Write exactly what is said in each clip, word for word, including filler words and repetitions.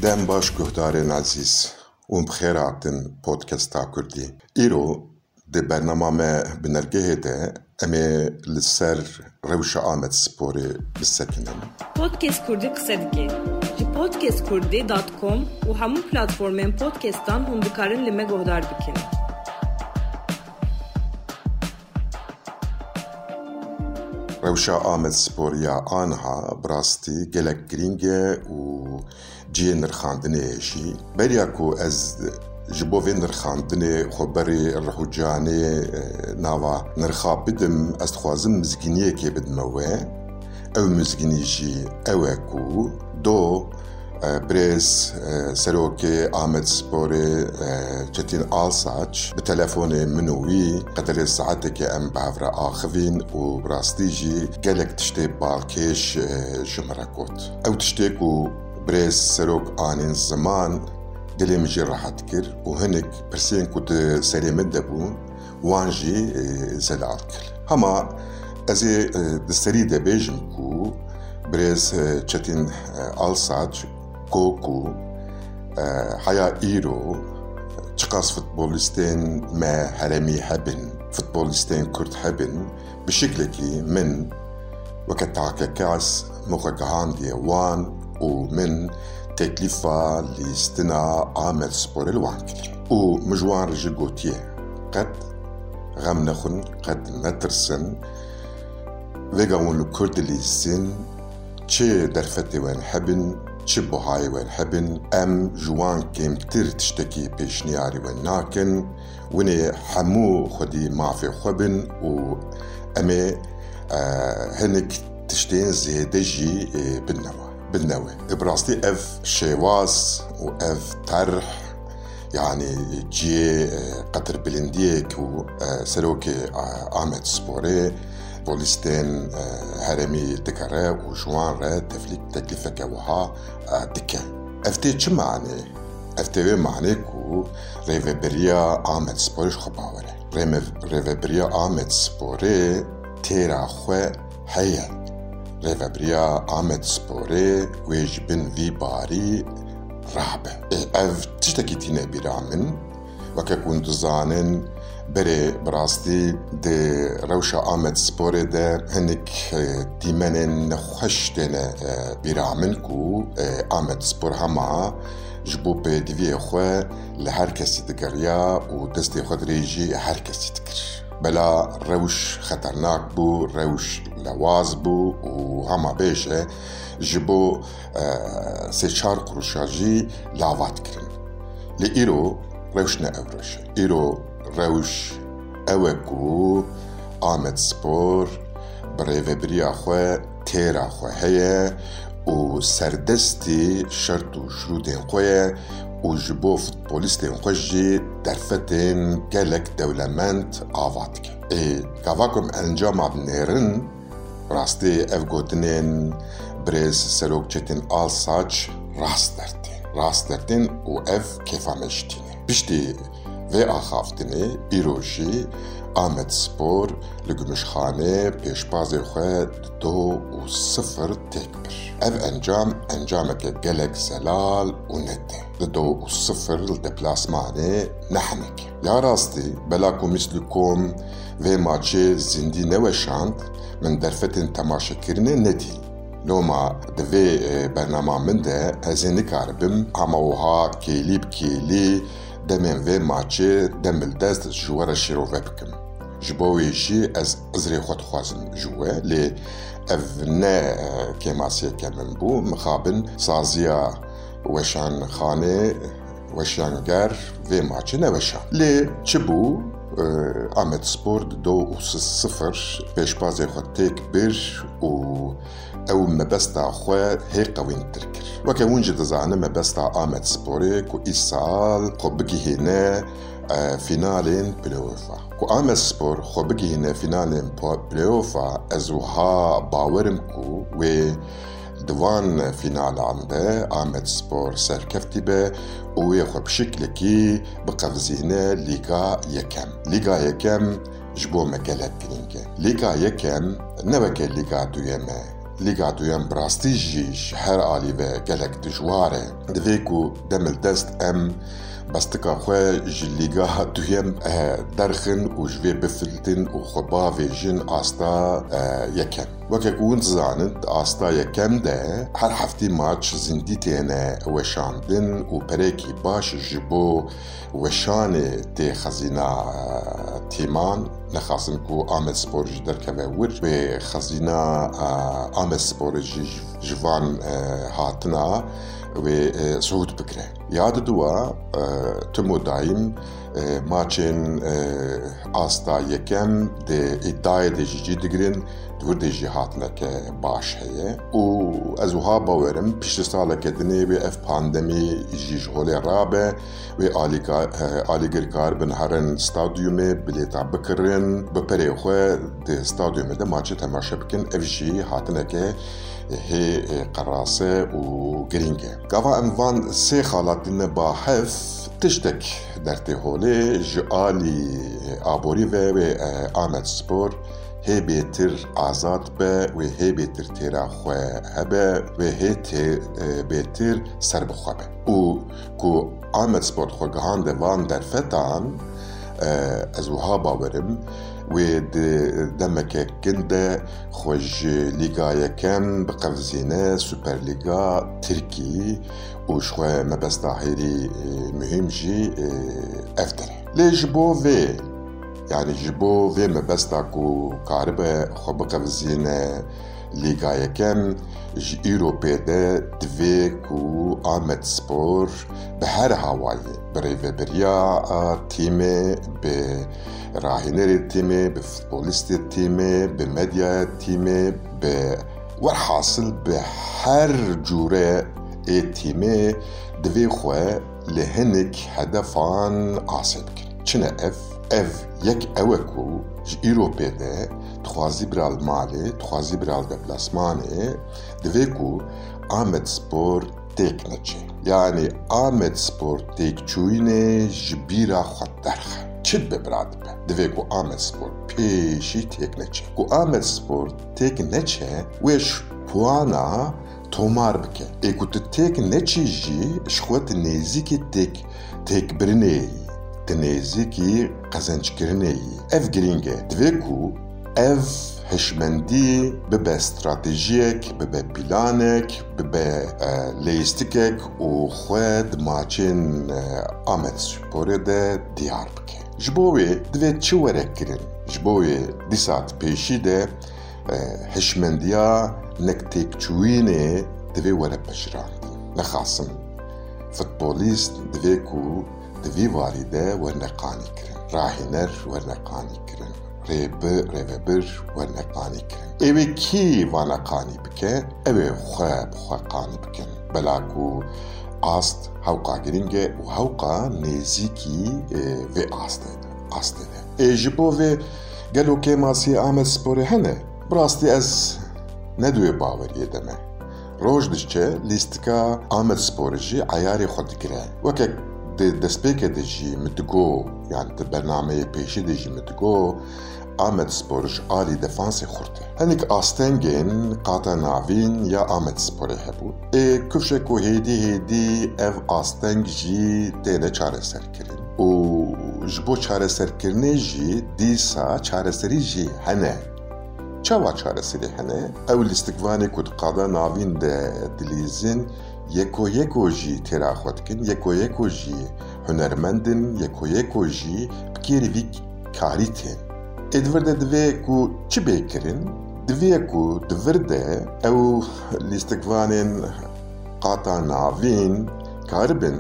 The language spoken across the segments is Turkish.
دم باش گهدارên عزیز û bixêr hatin podcasta Kurdî. Îro di bernama me bi nergehê de em ê li ser rewşa Amedsporê bisekinin. Podcast Kurdî qise dike. Ji podcast kurdî dot com û hemû platformên podcastan hûn dikarin li me guhdar bikin. Rewşa Amedsporiya aniha bi rastî gelek girîng e û ciyê nirxandinê jî beriya ku ez ji bo vê nirxandinê xweberê Rihûcanê nava nirxa bidim, ez dixwazim mizgîniyekê bidime wê. Ew mizgînî jî ew e ku do Birêz Serokê Amedsporê Çetin Alsaç bi telefonê min û wî qederê saetekê em bi hev re axivîn û bi rastî jî gelek tiştê balkêş ji me re got. Ew tiştê ku Birêz Serok anên ziman dilê min jî rehet kir û hinek pirsên ku di serê min de bûn wan jî zelal kir. Hema ez ê di serî de bêjim ku Birêz Çetin Alsaç got ku heya îro çiqas futbolîstên me heremî hebin, futbolîstên Kurd hebin, bi şeklekî min weke takekes min xwe gihandiye wan û min teklîfa lîstina Amedsporê li wan kir. û min ji wan re jî gotiye qet xem nexwin, qet netirsin, vêga hûn li Kurd dilîstin, çi derfetê wan hebin, çi buhayê wan hebin, em ji wan kêmtir tiştekî pêşniyarî wan nakin, winê hemû xwedî mafê xwe bin û em ê hinek tiştên zêde jî binnewe. binnewe. Bi rastî ev şêwaz û ev terh yani ciyê qedir bilindiyek û Serokê Amedsporê polîstên heremî dikare û ji wan re teklîfeke wiha dike. Ev tê çi manê? Ev tê vê manê ku rêveberiya Amedsporê ji xwe bawer e. Rêveberiya Amedsporê têra xwe heye. Rêveberiya Amedsporê wê ji bin vî barî rabe. Ev tiştekî tîne bîra min weke ku hûn dizanin berê bi rastî di rewşa Amedsporê de hinek dîmenên nexweş têne bîra min ku Amedspor hema ji bo pêdiviyê xwe li her kesî digeriya û destê xwe dirê jî her kesî dikir. Bela rewş xeternak bû, rewş lewaz bû û hema bêje ji bo sê çar quruşa jî lavat kirin. Lê îro rewş ne ew reş e. Îro rewş ew e ku Amedspor bi rêveberiya xwe têra xwe heye û serdestî şert û şurûdên xwe ye û ji bo futbolîstên xwe jî derfetên gelek dewlemend ava dike. Ê gava ku em encama binêrin, rastî ev gotinên Birêz Serok Çetin Alsaç rast dertên. Rast dertên û ev kêfa me jî tîne. Piştî vê axaftinê îro jî Amedspor li Gümüşxanê pêşbazê xwe di do û sıfır têk bir. Ev encam encameke gelek zelal û net e. Di do û sıfır li deplasmanê ne hinek. Ya rastî bela ku mislî kom vê maçê zindî neweşand, min derfetên temaşekirinê nedî. Loma di vê bernama min de ez ê nikaribim hema wiha kêlî bi kêlî demên vê maçê dem dest ji we re şîrove bikim. Ji bo wê jî ez izrê xwe dixwazim ji we, lê ev ne kêmasiyeke min bû, mixabin saziya weşanxanê weşanger vê maçê neweşan. Lê çi bû? Amedspor di do û sıfır pêşbazê xwe têk bir û ew mebesta xwe hê qewîntir kir. Weke hûn jî dizanin mebesta Amedsporê ku îsal xwe bigihîne finalên play-offa. Ku Amedspor xwe bigihîne finalên play-offa, ez wiha bawerim ku wê di van finalan de Amedspor serkeftî be û wê xwe bi şeklekî biqevizîne Lîga Yekem. Lîga Yekem ji bo me gelek girîng e. Lîga Yekem ne weke Lîga duyem e. لیگا دویم براستی جیش هر آلی و گلک دجواره دوی کو دمل دست ام بستکا خواه جلیگا دویم درخن و جوی بفلتن و خباوی جن آستا یکم وکه کون زانند آستا یکم ده هر هفتی ماچ زندی تینه وشاندن و پریکی باش جبو وشان تی خزینا تیمان نخواستن کو آمد سپور جی در که ور و خزینا آمد سپور جی جوان هاتنا و صعود بکره یاد دوا تمو دایم ماچن آستا یکم ده ادعای ده جی دگرین دور ده جی هاتنا که باش هیه و از وها باورم پیش ساله که دنی به اف پاندمی جی جهوله رابه و آلیگر کار بن هرن ستادیومه بلیتا بکرن بپره خواه ده ستادیومه ده ماچه تماشا بکن اف جی هاتنا که هي قراسة وجرينجة كافا انوان سي خالاتين باحث تشتك درتي هولي جالي ابوري و آمد سپور هي بيتر آزاد به و هي بيتر تيرا خواه هبه و هي بيتر سر بخواه به و كو آمد سپور خواه گهان دوان در فتان از وها باورم و دمك كندا خوج ليغا يكم بقفزينة سوبر ليغا تركي وشوى مبس ظاهري مهم جي افتر لي جبو في يعني جبو في مبس تاكو كاربة خو بقفزينة ليغا يكم جي ايروبي ده دوي كو آمد سپور بهر هواي بريفه بريا تيمي ب راهنري تيمي بفوتبوليست تيمي بميديا تيمي ب والحاصل بهر جوره اي تيمي دوي خواه لهنك هدفان عاصبك چنه اف اف يك اوكو ج ايروبي ده تخوازي برال مالي تخوازي برال دبلاسماني دوي كو آمد سپور تيك نچه يعني آمد سپور تيك چوينه جبيرا خود درخه چید ببراد به دوی کو آمد سپور پیشی تیک نچه کو آمد سپور تیک نچه ویش پوانا تومار بکه ای کو تیک نچی جی شخوت نیزی که تیک تیک برنه ای تنیزی که قزنج کرنه ای اف گرینگه دوی کو اف هشمندی ببه استراتیجیک ببه پلانک ببه لیستیکک و خود ماچین آمد سپور ده دیار بکه جبوی دوی چه ورک کرن جبوی دیسات پیشی ده هشمندیا نکتیک چوینه دوی ورک بجراند نخاصم فوتبولیست دوی کو دوی واریده ورنقانی کرن راهنر ورنقانی کرن ریب ریبر ورنقانی کرن اوی کی ورنقانی بکن اوی خواب خواه بکن بلاکو آست هوقا گرینگه و هوقا نیزیکی و آسته ده آسته ده ای جبو و گلو که ماسی آمد سپوره هنه براستی از ندوی باوریه دمه روش دشچه لیستکا آمد سپوره جی عیاری خود گره وکه دسپیک دجی متگو يعني برنامه پیشی دجی متگو آمد سپورش آلی دفانسی خورده هنیک آستنگین قاطع ناوین یا آمد سپوره هبو ای کفشه کو هیدی هیدی اف آستنگ جی تینه چاره سر کرن و جبو چاره سر کرنه جی دیسا چاره سری جی هنه چاوا چاره سری هنه اول استقوانی کد قاطع ناوین ده دلیزین یکو یکو جی تیرا خود کن یکو یکو جی هنرمندن یکو یکو جی بکیری وی کاری تین ادورده دوی کو چی بیکرین دوی کو دورده او لیستکوانین قاطع ناوین کاربن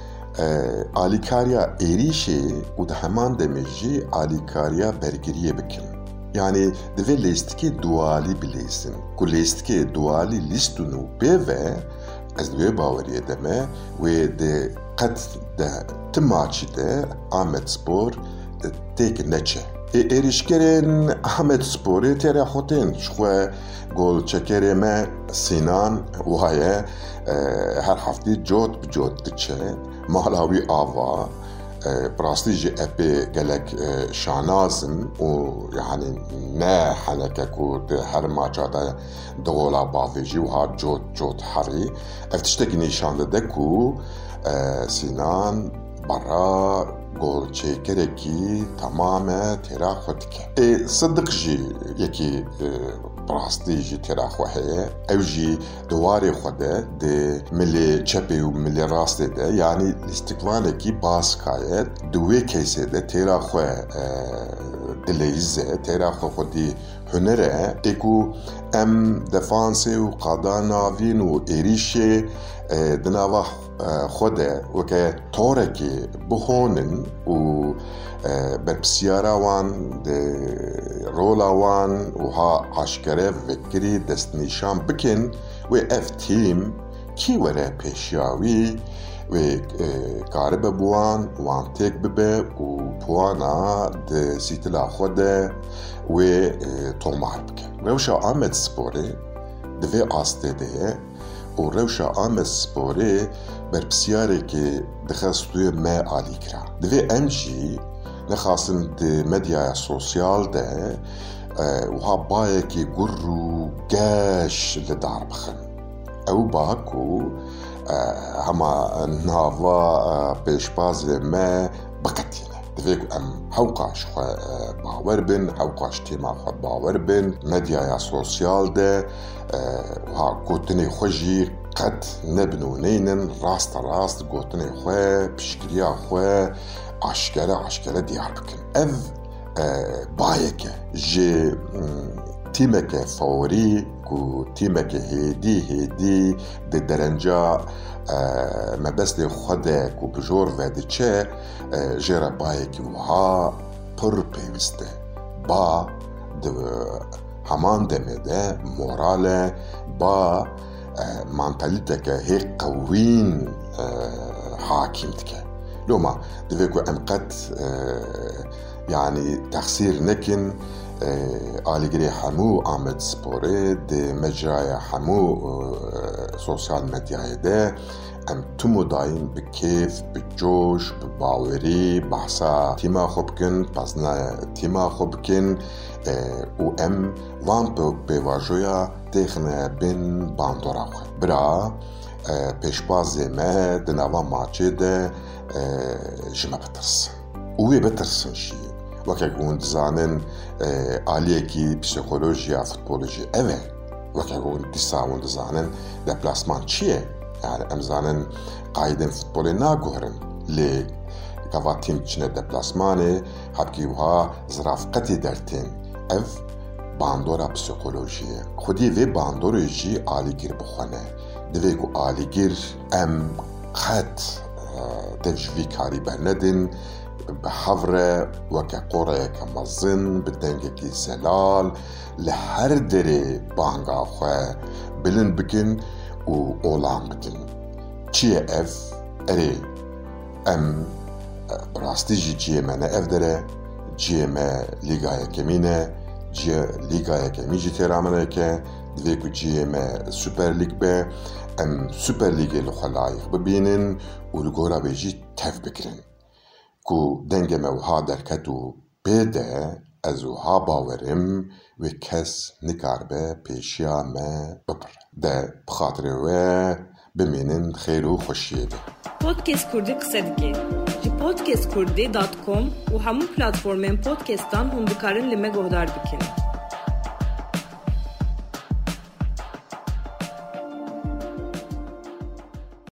آلیکاریا ایریشه و ده همان دمیجی آلیکاریا برگریه بکن yani دوی لیستکی دوالی بلیسن کو لیستکی دوالی لیستونو بیوه از دوی باوریه دمه و ده قد ده تماچی ده آمد سپور تیک نچه ایریشکرین آمد سپوری تیره خوتین شخوه گل چکری ما سینان وهایه هر هفته جوت بجوت دچه مالاوی آوا براستی جی اپی گلک شانازم و یعنی نه حنکه کود هر ماچادا دولا باویجی و ها جوت جوت حری افتشتگی نشانده دکو سینان برا گل چیکرکی تمامه تیرا خود که صدق جی یکی براستی جی تیرا خواه او جی دواری خوده ده ملی چپی و ملی راسته ده یعنی استقلاله کی باز کایت دوی کیسه ده تیرا خواه دلیزه تیرا خواه خودی هنره اکو ام دفانسه و قاداناوین و ایریشه دناوه خوده وکه طورکی بخونن و برپسیارا وان ده رولا وان و ها عشکره وکری دست نشان بکن و اف تیم کی وره پیشیاوی و کارب بوان وان تک ببه و پوانا ده سیتلا خوده و تومار بکن روشا آمد سپوره دوی آسته ده و روشا آمد سپوره برپسیاره که دخستوی ما آلی کرا دوی امجی نخواستن ده مدیا سوسیال ده و ها بایه که گر و گش لدار بخن او باکو هما ناوا پیشباز ما بقتینه دوی ام حوقاش خواه باور بین حوقاش تیما خواه باور بین مدیا سوسیال ده و ها گوتنی خوشی قد نبنونینن راست راست گوتنی خواه پشکریا خواه عشکره عشکره دیار بکن اف بایکه جه تیمک فوری کو تیمک هیدی هیدی ده درنجا مبست خوده کو بجور وده چه جره بایکی وها پر پیوسته با ده همان دمده موراله با منطلیته که هی قوین حاکم تکه لو ما دویکو امقد يعني تخسير نكن آليجري حمو آمد سبوري دي مجرى حمو سوسيال ميديا ده ام تمو داين بكيف بجوش بباوري بحثا تيما خوبكن بازنا تيما خوبكن و ام وان بواجويا تخنه بين باندورا خو برا پیشبازی ما دنوا ماچه ده جمع بترس اوی بترسن شی وکه گوند زانن آلیه کی پسیکولوژیا فوتبولوژی اوه وکه گوند دیساوند زانن دپلاسمان چیه yani ام زانن قایدن فوتبولی ناگوهرن لی گواتیم چنه دپلاسمانه حبکی وها زرافقتی درتین اف باندورا پسیکولوژیه خودی وی باندوری جی آلی گیر بخونه دوی کو آلیگیر ام قد تجوی کاری برندن به حوره وکه قوره که مزن بدنگه کی زلال لحر دره بانگا خواه بلن بکن و اولان بکن چیه اف اره ام براستی جی جیه منه اف دره جیه ما لیگای کمینه جیه لیگای کمی جی تیرامنه که دوی کو جیه ما سوپر لیگ به ام سوپر لیگ لخلایق ببینن و لگورا بیجی تف بکرن کو دنگ موها درکتو بیده از وها باورم و کس نکار به پیشیا ما ببر ده بخاطر و بمینن خیر و خوشیه ده پودکست کردی قصه دیگه جی پودکست کردی دات کام و همون پلتفورمین پودکستان هم بکارن لمه گهدار بکنن